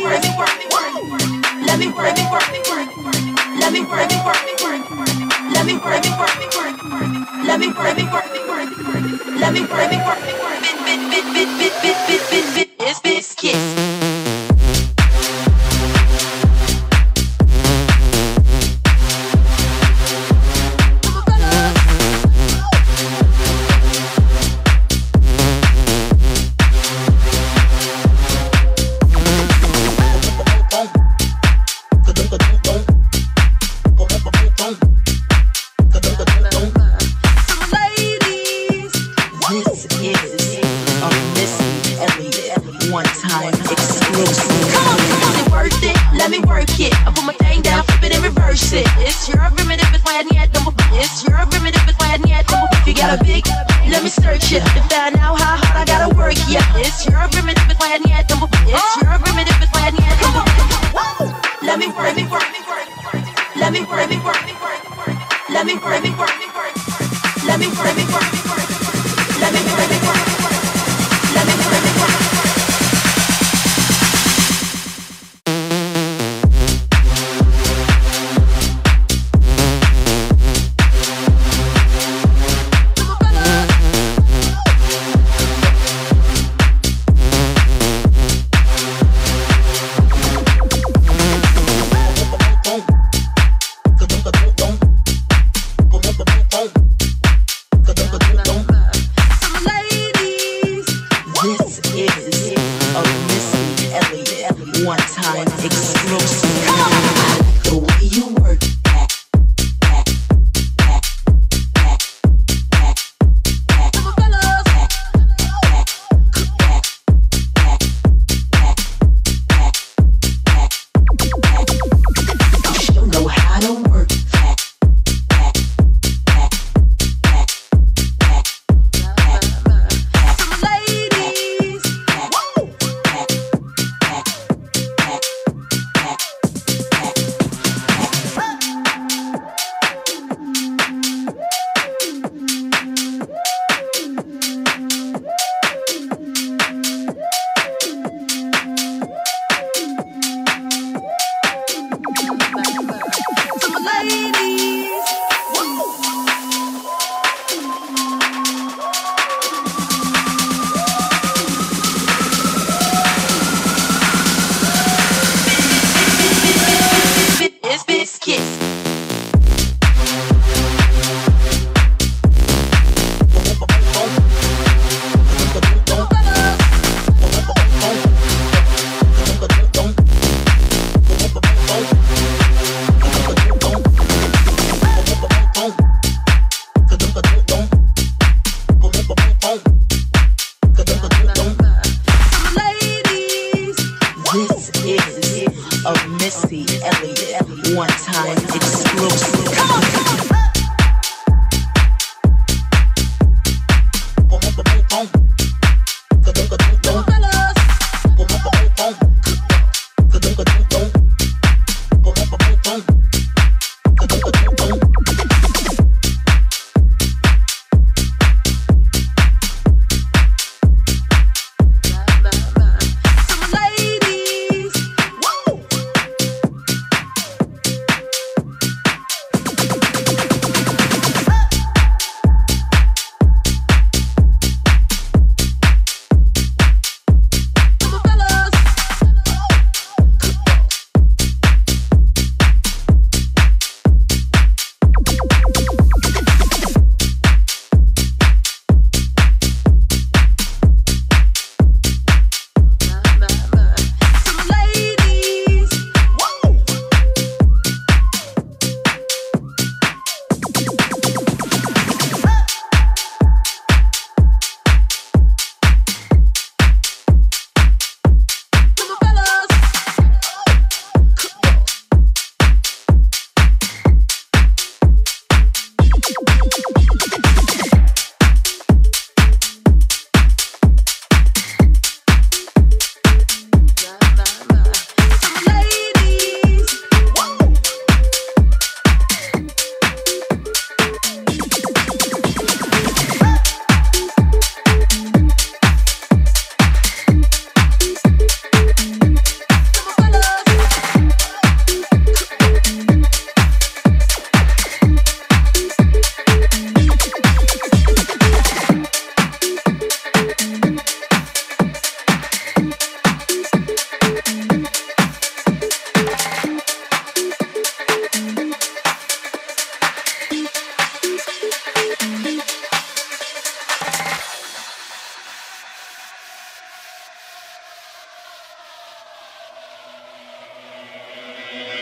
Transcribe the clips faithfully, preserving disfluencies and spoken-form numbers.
work me work me work. Let me work me work me work. Let me work me work me work. Let me work me work me work. Let me work me work me work. Let me work me work me work. Bit bit bit bit bit bit bit bit bit is biscuits.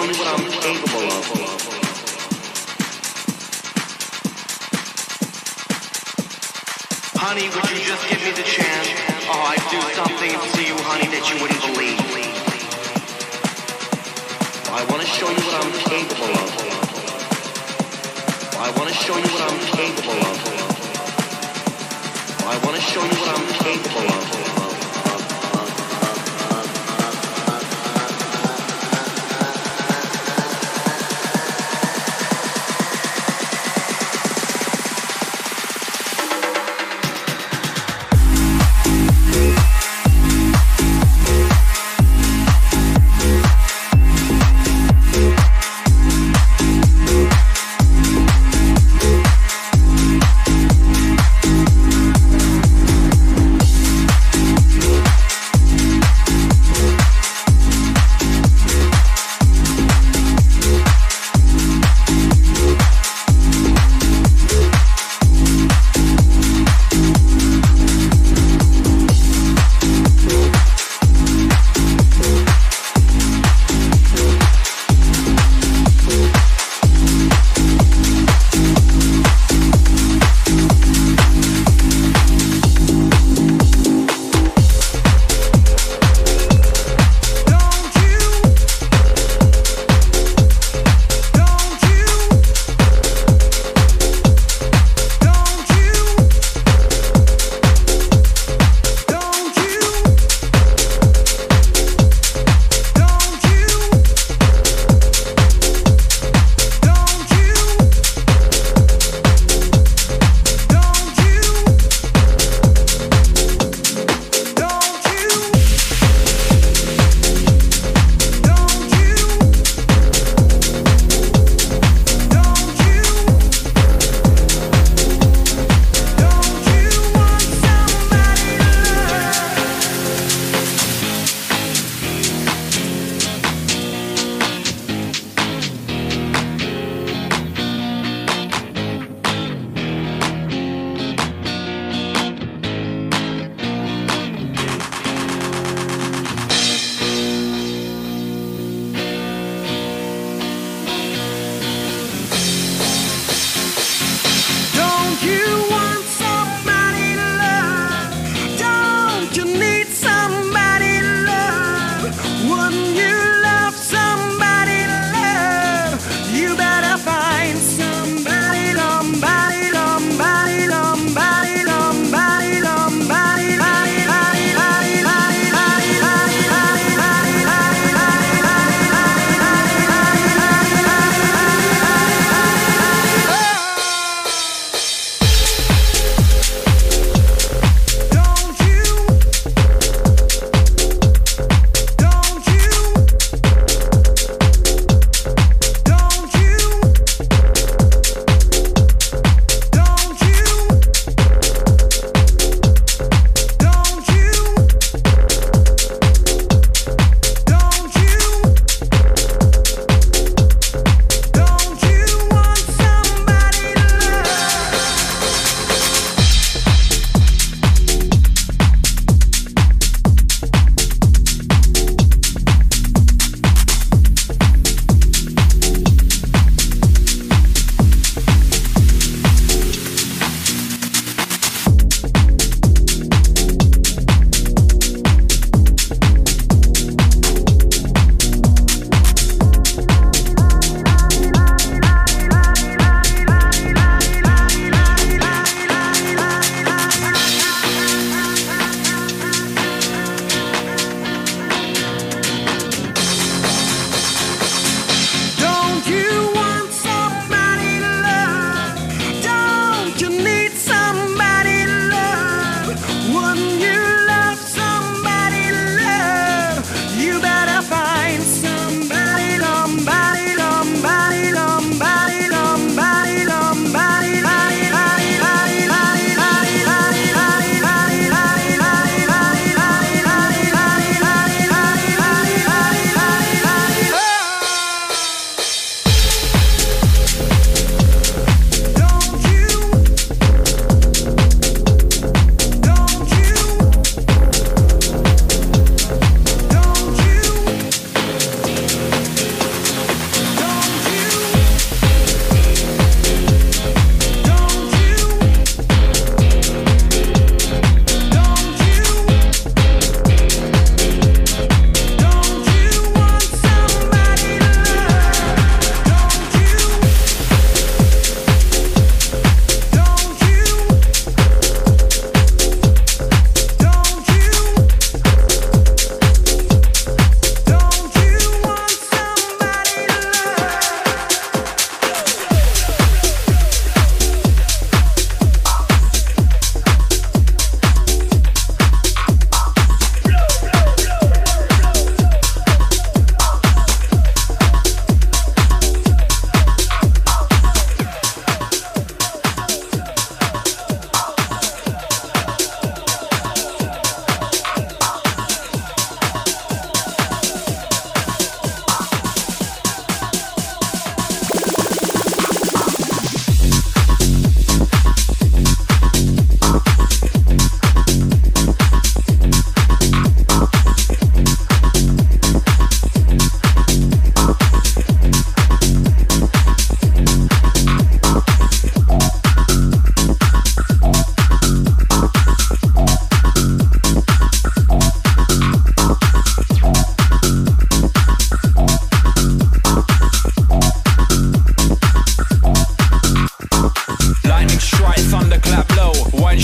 show you what I'm capable of. Honey, would you just give me the chance? Oh, I'd do something to you, honey, that you wouldn't believe. I want to show you what I'm capable of. I want to show you what I'm capable of. I want to show you what I'm capable of.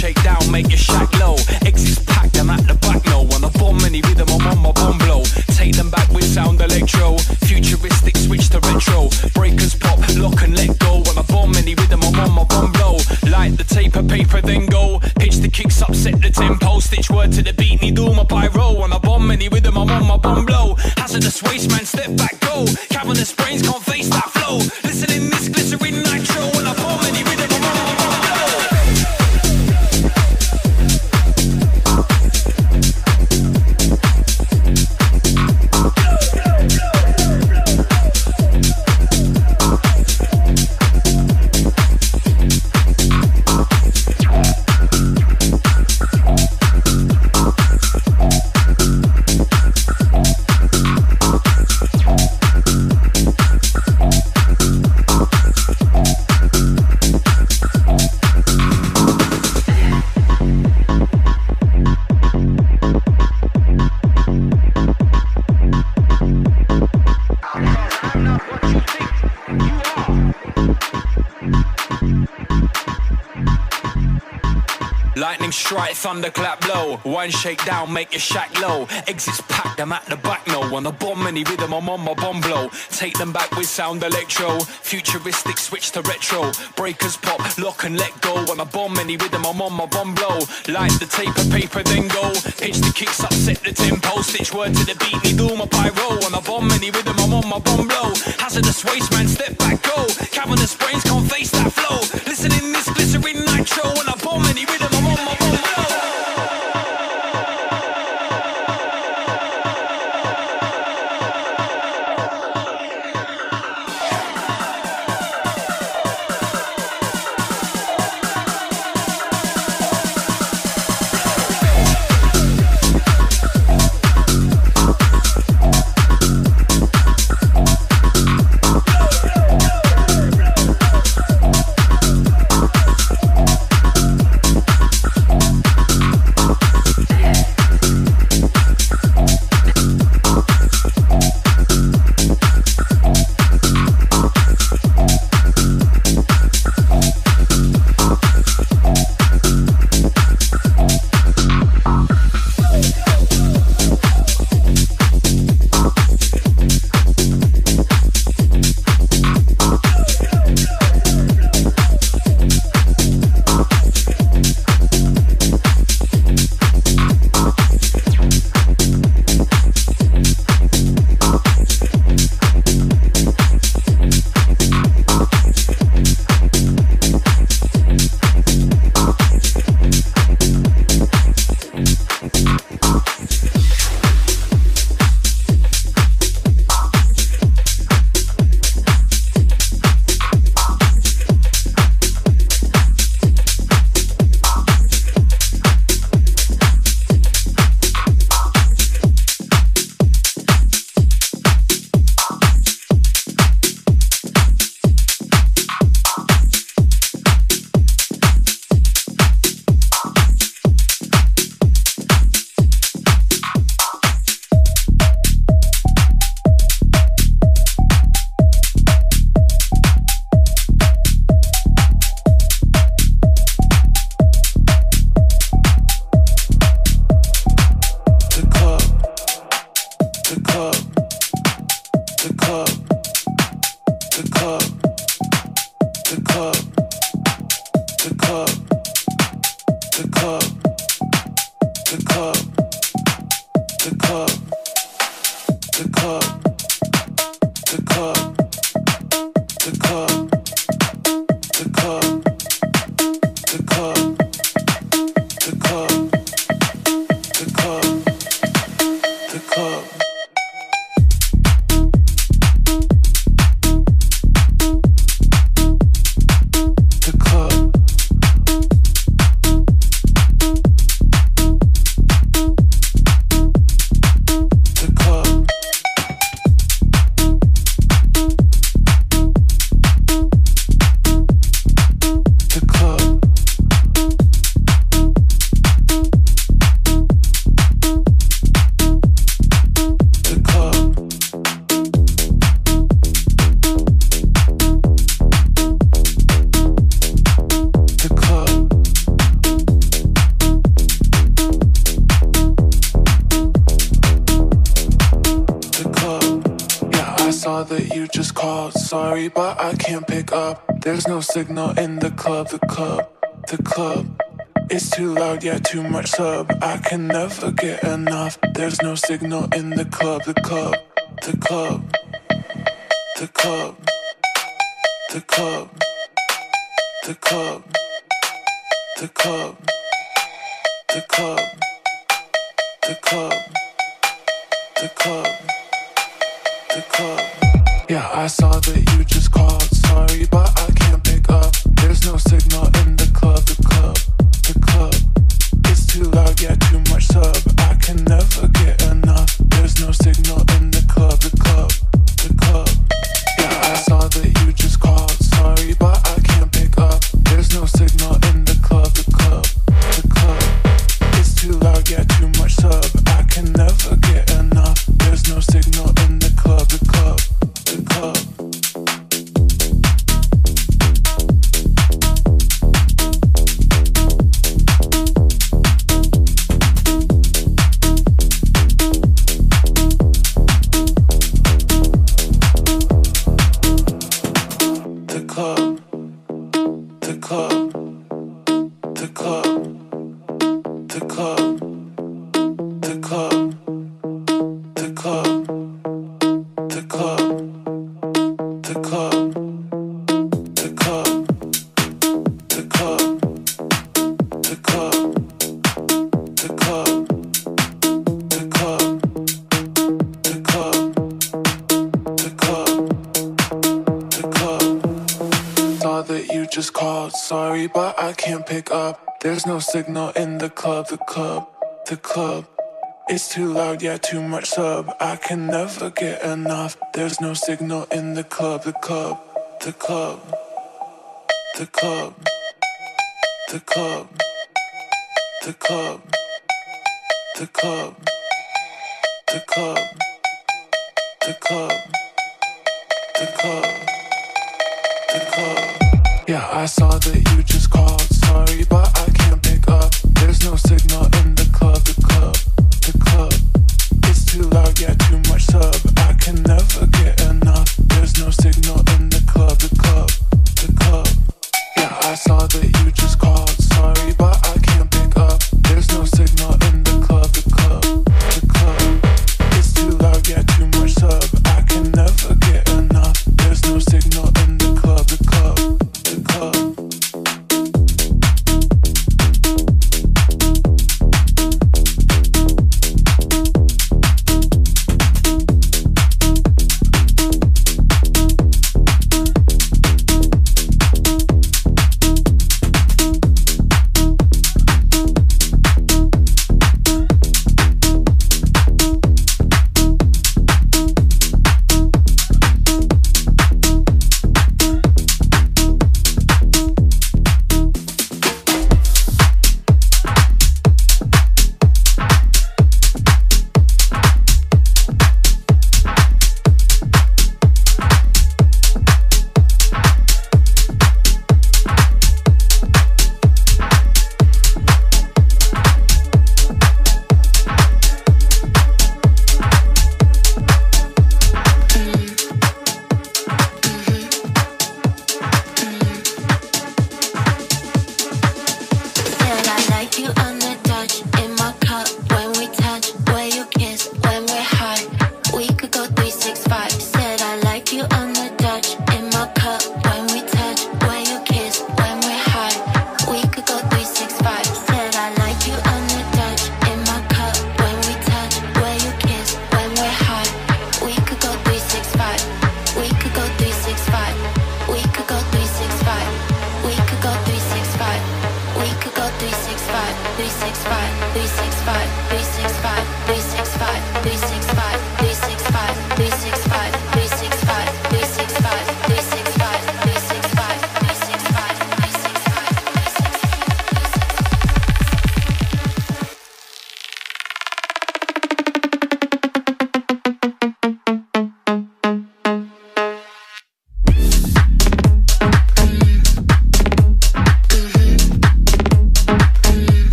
shake down, make your shack low. Exits packed, I'm at the back now. On a bomb, any rhythm, I'm on my bomb blow. Take them back with sound electro. Futuristic switch to retro. Breakers pop, lock and let go. On a bomb, any rhythm, I'm on my bomb blow. Light the tape of paper, then go. Pitch the kicks up, set the tempo. Stitch word to the beat, need all my pyro. On a bomb, any rhythm, I'm on my bomb blow. Hazardous waste, man, step back, go. Cavernous brains can't face that flow. Listen in this glycerin nitro. On a bomb, any rhythm, I'm on my bomb blow. Lightning strike, thunderclap blow. One shake down, make your shack low. Exits packed, I'm at the back now. On a bomb, any rhythm, I'm on my bomb blow. Take them back with sound electro. Futuristic switch to retro. Breakers pop, lock and let go. On a bomb, any rhythm, I'm on my bomb blow. Light the tape of paper, then go. Pitch the kicks up, set the tempo. Stitch word to the beat, need all my pyro. On a bomb, any rhythm, I'm on my bomb blow. Hazardous waste, man, step back, go. Cavernous brains can't face that flow. Listen in this glycerin nitro. On a bomb, any rhythm, I'm on my bomb blow. just called. Sorry, but I can't pick up. There's no signal in the club, the club, the club. It's too loud, yeah, too much sub. I can never get enough. There's no signal in the club, the club, the club, the club, the club, the club, the club, the club, the club, the club, the club. Yeah, I saw that you just called. Sorry, but I can't pick up. There's no signal in the club, the club, the club. It's too loud, yeah, too much sub. I can never get enough. There's no signal in the club, the club, the club. Yeah, I saw that you just called. Sorry, but I can't pick up. There's no signal in the club, the club, the club. It's too loud, yeah, too much sub. I can never get enough. There's no signal in the club, the club, the club. Sorry, but I can't pick up. There's no signal in the club, the club, the club. It's too loud, yeah, too much sub. I can never get enough. There's no signal in the club, the club, the club, the club, the club, the club, the club, the club, the club, the club, the club. Yeah, I saw that you just called. Sorry, but I can't pick up. There's no signal in the club, the club, the club. It's too loud, yeah, too much sub. I can never get enough. There's no signal in the club, the club, the club. Yeah, I saw that you just called. Sorry, but I can't pick up. There's no signal in the club, the club, the club. It's too loud, yeah, too much sub. I can never get enough. There's no signal in the club, the club. The club.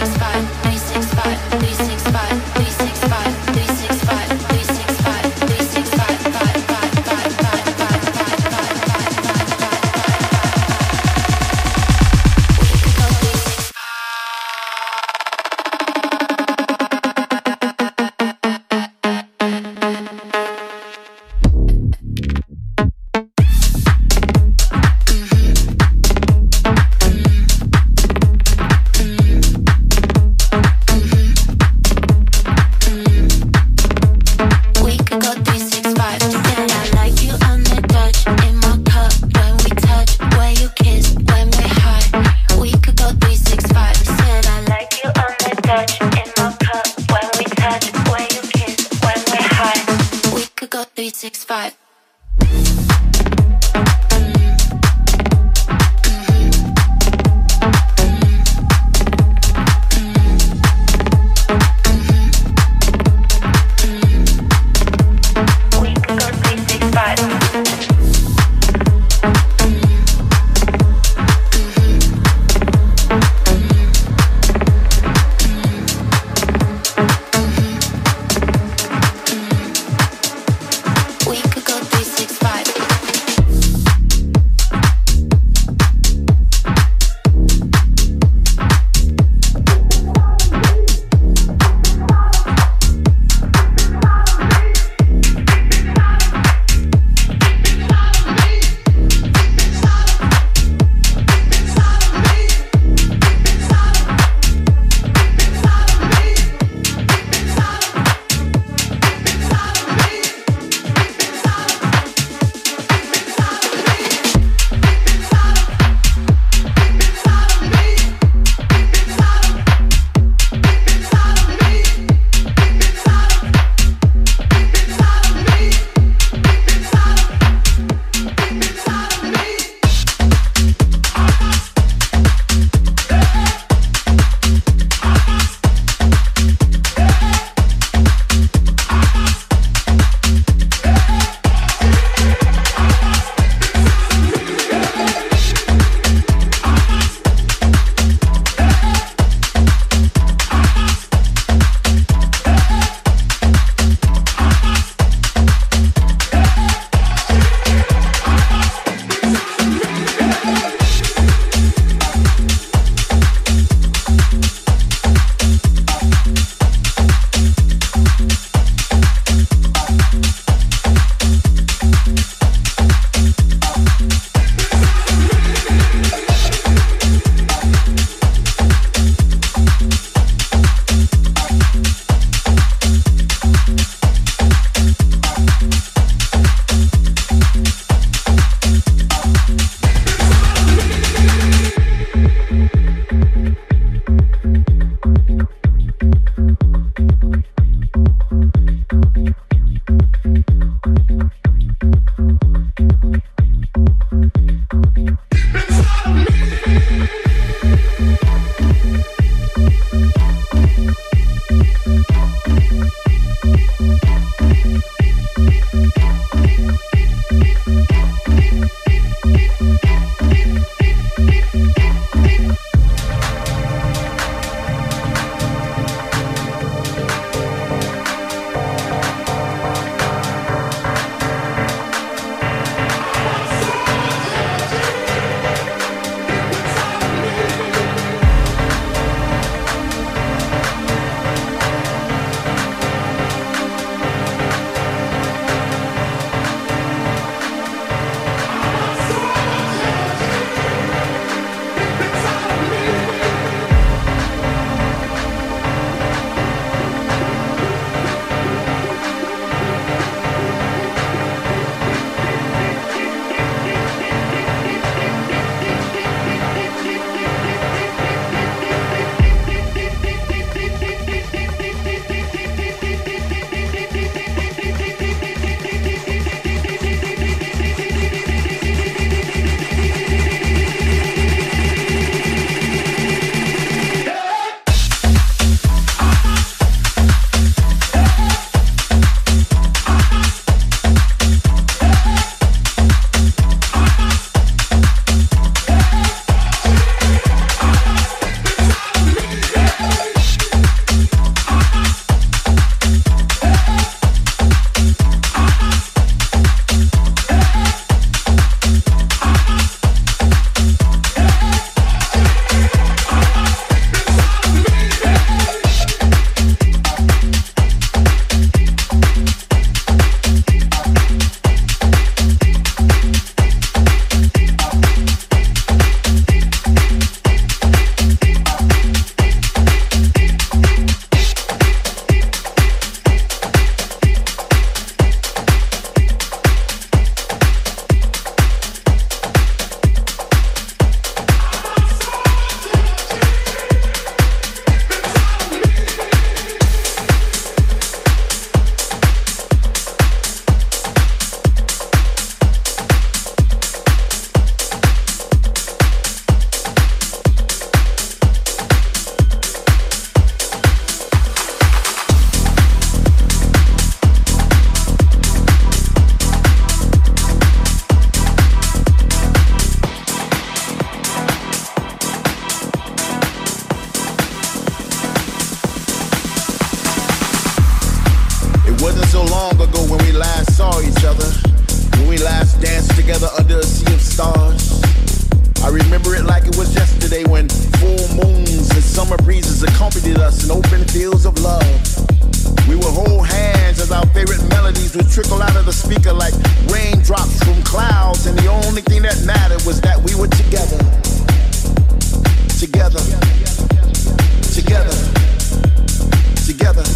We could go long ago when we last saw each other, when we last danced together under a sea of stars. I remember it like it was yesterday when full moons and summer breezes accompanied us in open fields of love. We would hold hands as our favorite melodies would trickle out of the speaker like raindrops from clouds, and the only thing that mattered was that we were together. Together. Together. Together.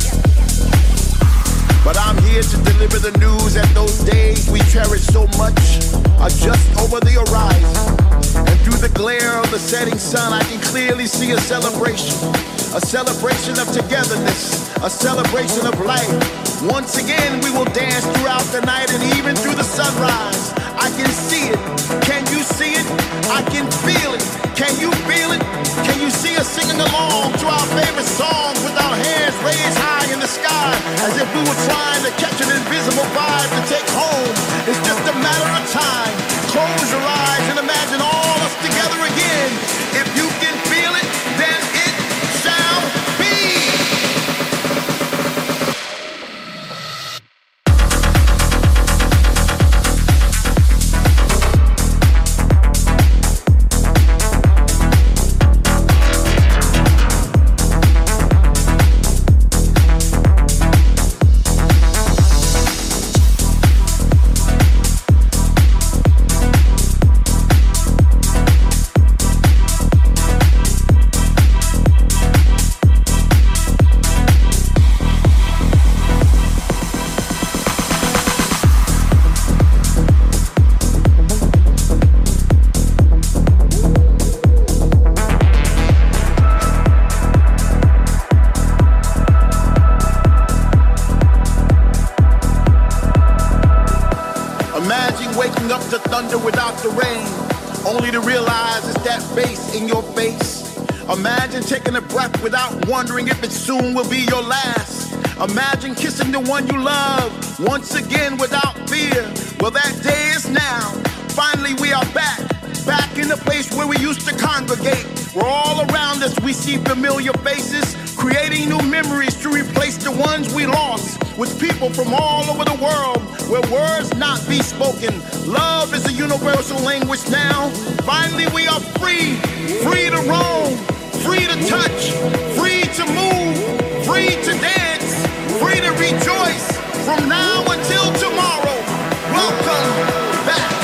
But I'm here to deliver the news that those days we cherish so much are just over the horizon. And through the glare of the setting sun, I can clearly see a celebration. A celebration of togetherness, a celebration of life. Once again, we will dance throughout the night and even through the sunrise. I can see it. Can you see it? I can feel it. Can you feel it? Can you see us singing along to our favorite songs with our hands raised high in the sky as if we were trying to catch an invisible vibe to take home? It's just a matter of time. Close your eyes and imagine all us together again. If you can feel it, then it shall be. Imagine taking a breath without wondering if it soon will be your last. Imagine kissing the one you love once again without fear. Well, that day is now. Finally, we are back. Back in the place where we used to congregate. Where all around us we see familiar faces, creating new memories to replace the ones we lost. With people from all over the world, where words not be spoken. Love is a universal language now. Finally, we are free. Free to roam. Free to touch, free to move, free to dance, free to rejoice from now until tomorrow. Welcome back.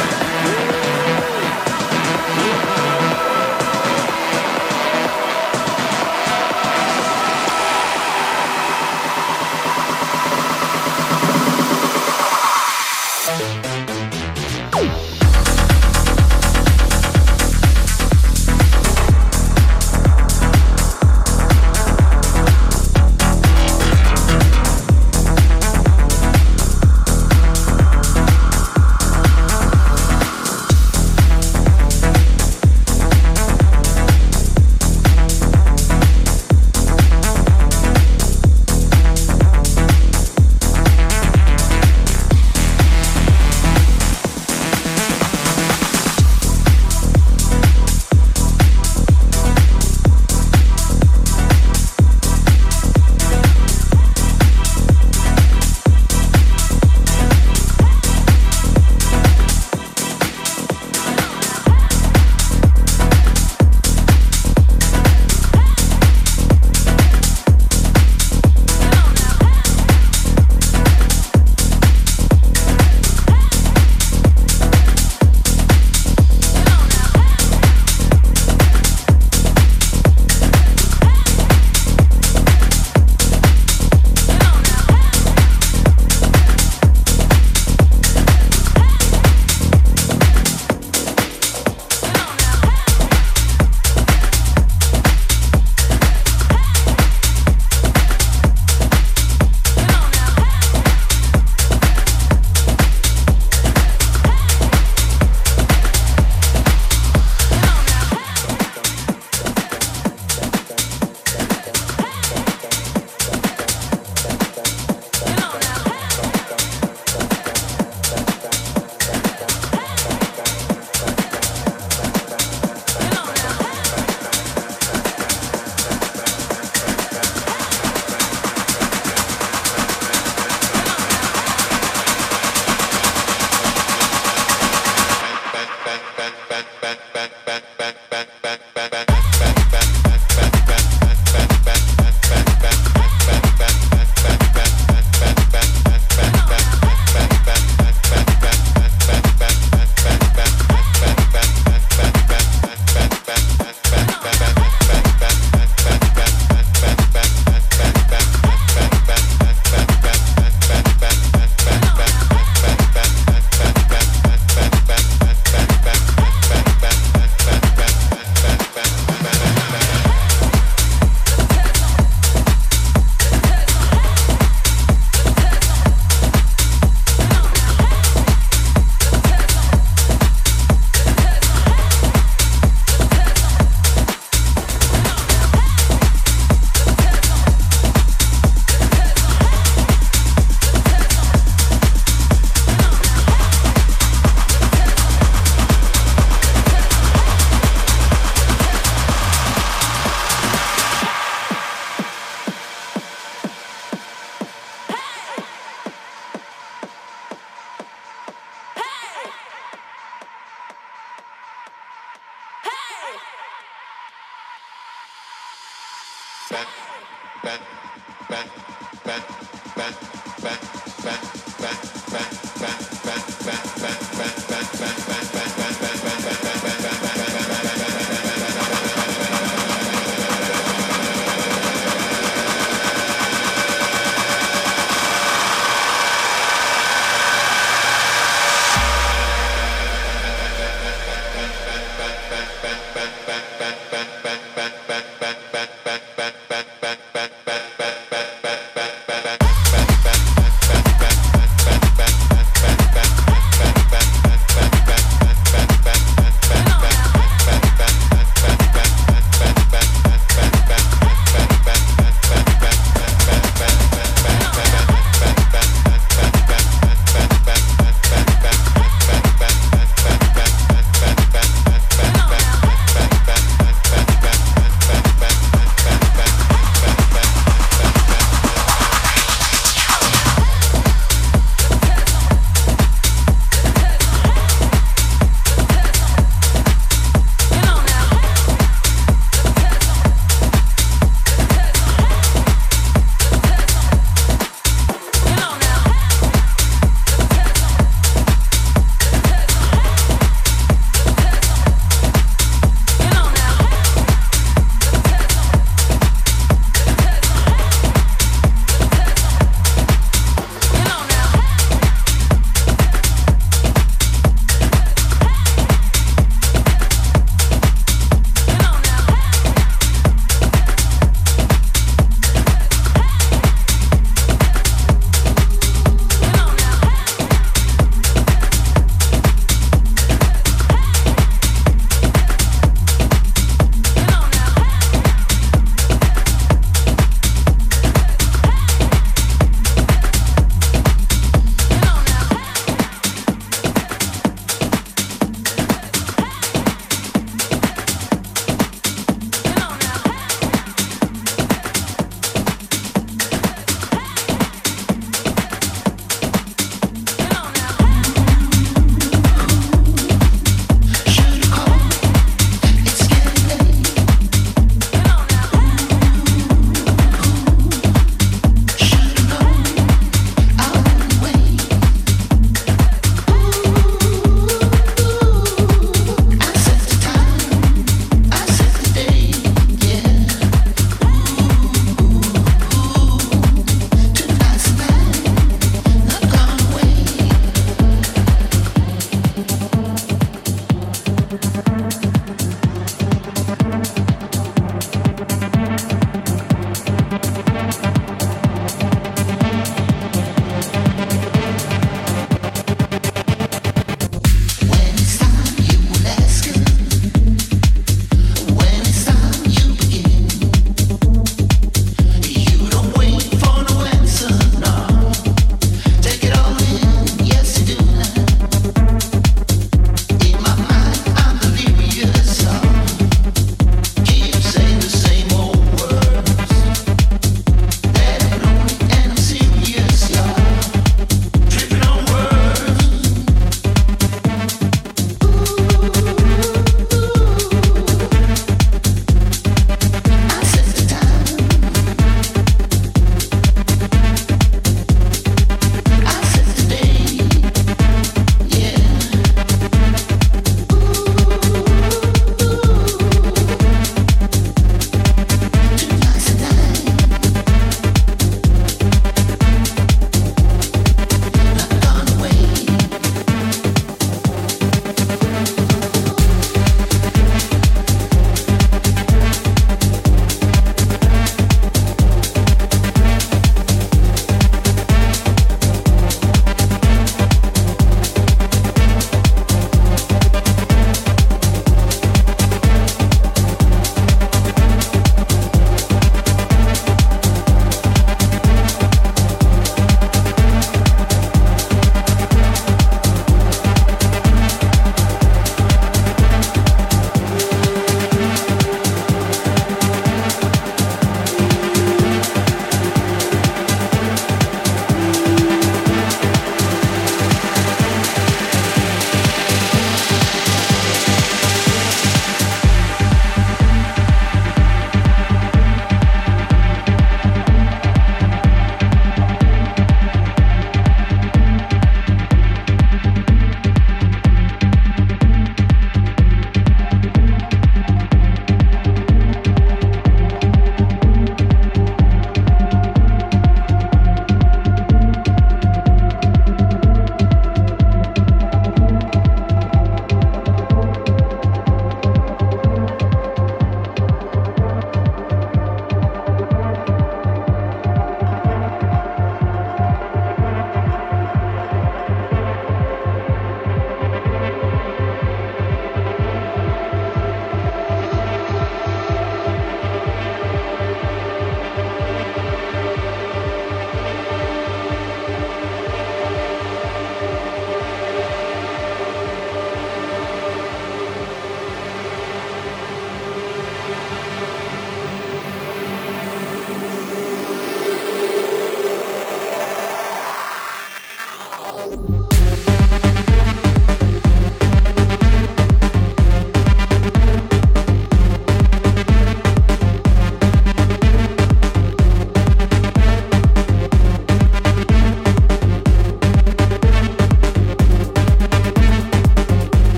Bye.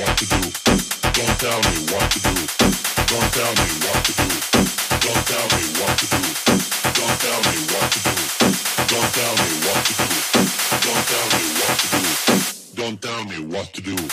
what to do. Don't tell me what to do. Don't tell me what to do. Don't tell me what to do. Don't tell me what to do. Don't tell me what to do. Don't tell me what to do. Don't tell me what to do.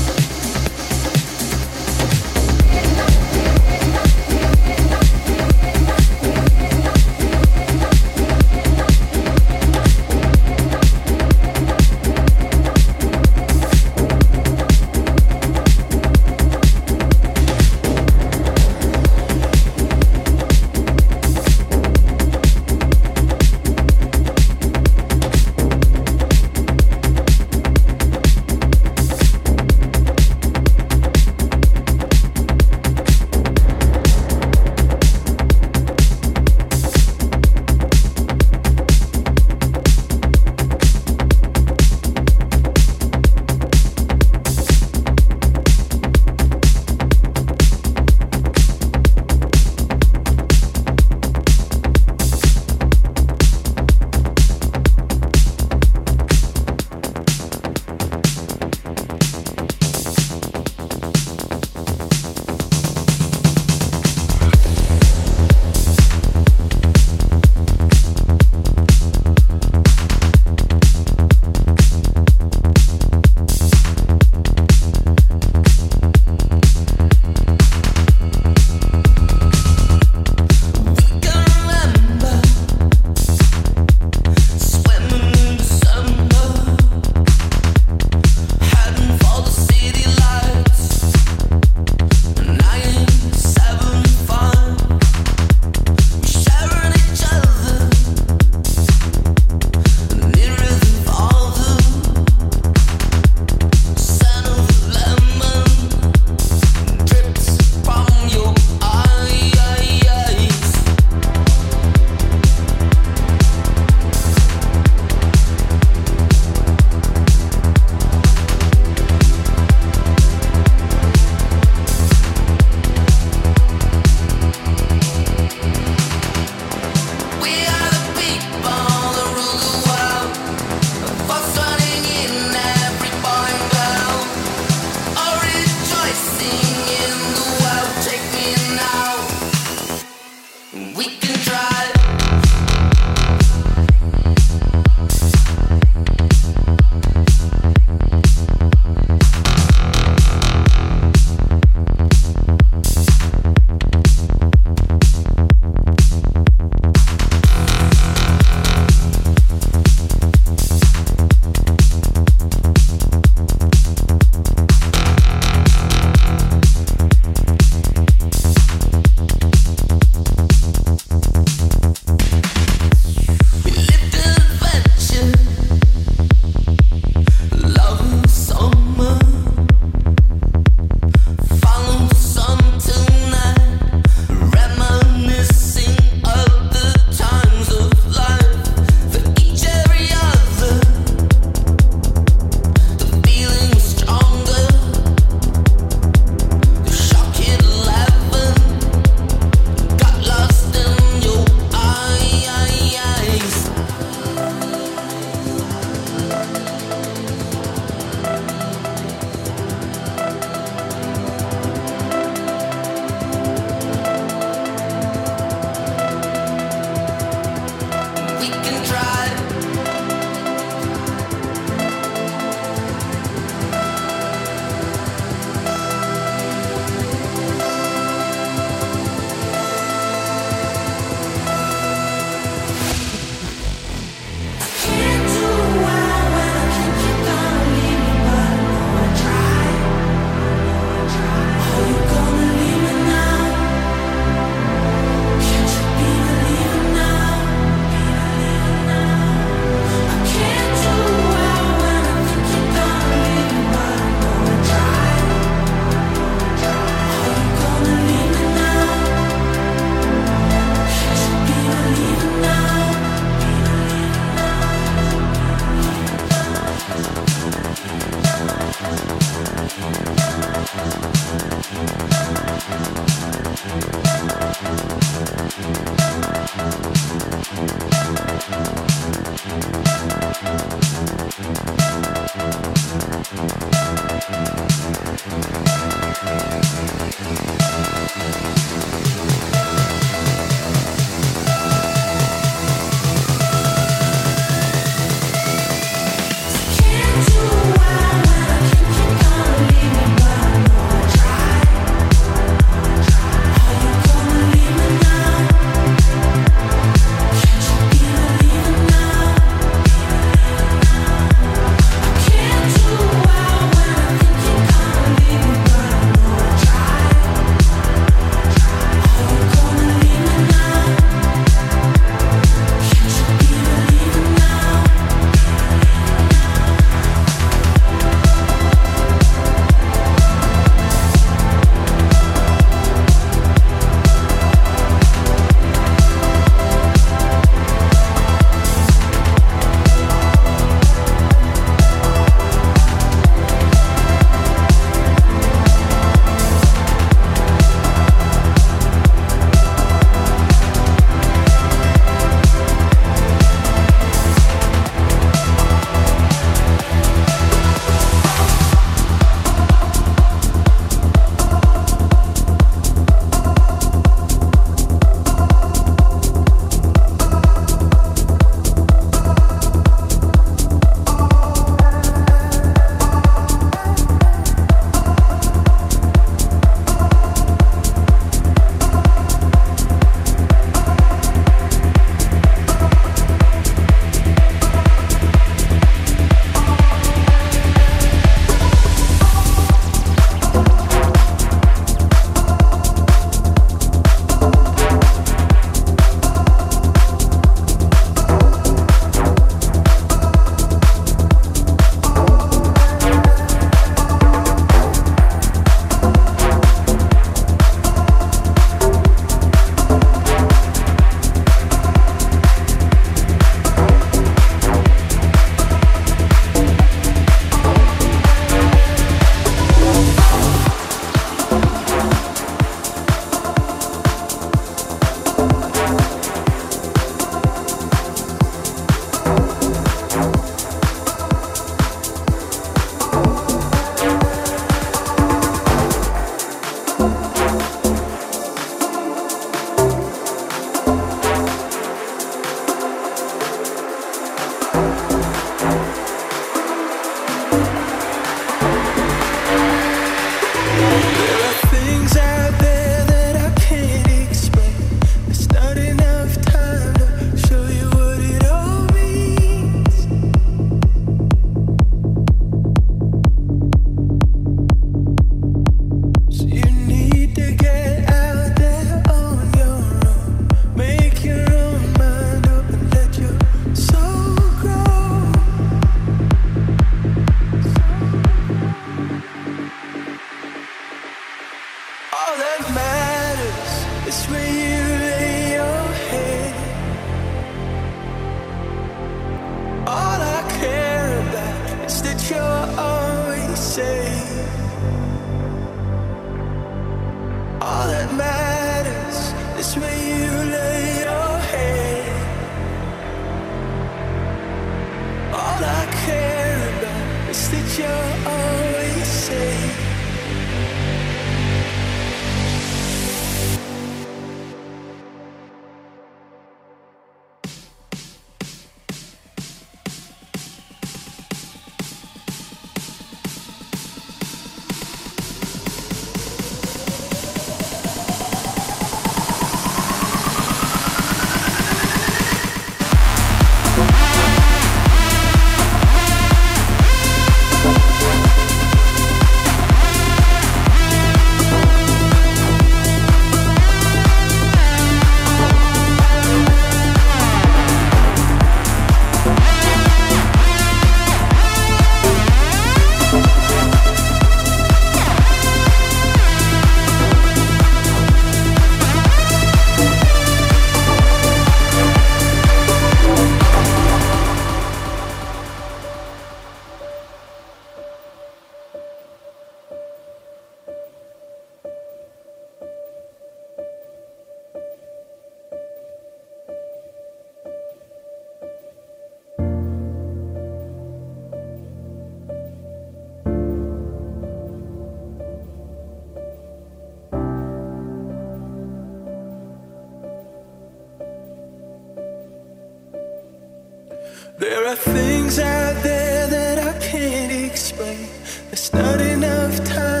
There are things out there that I can't explain. There's not enough time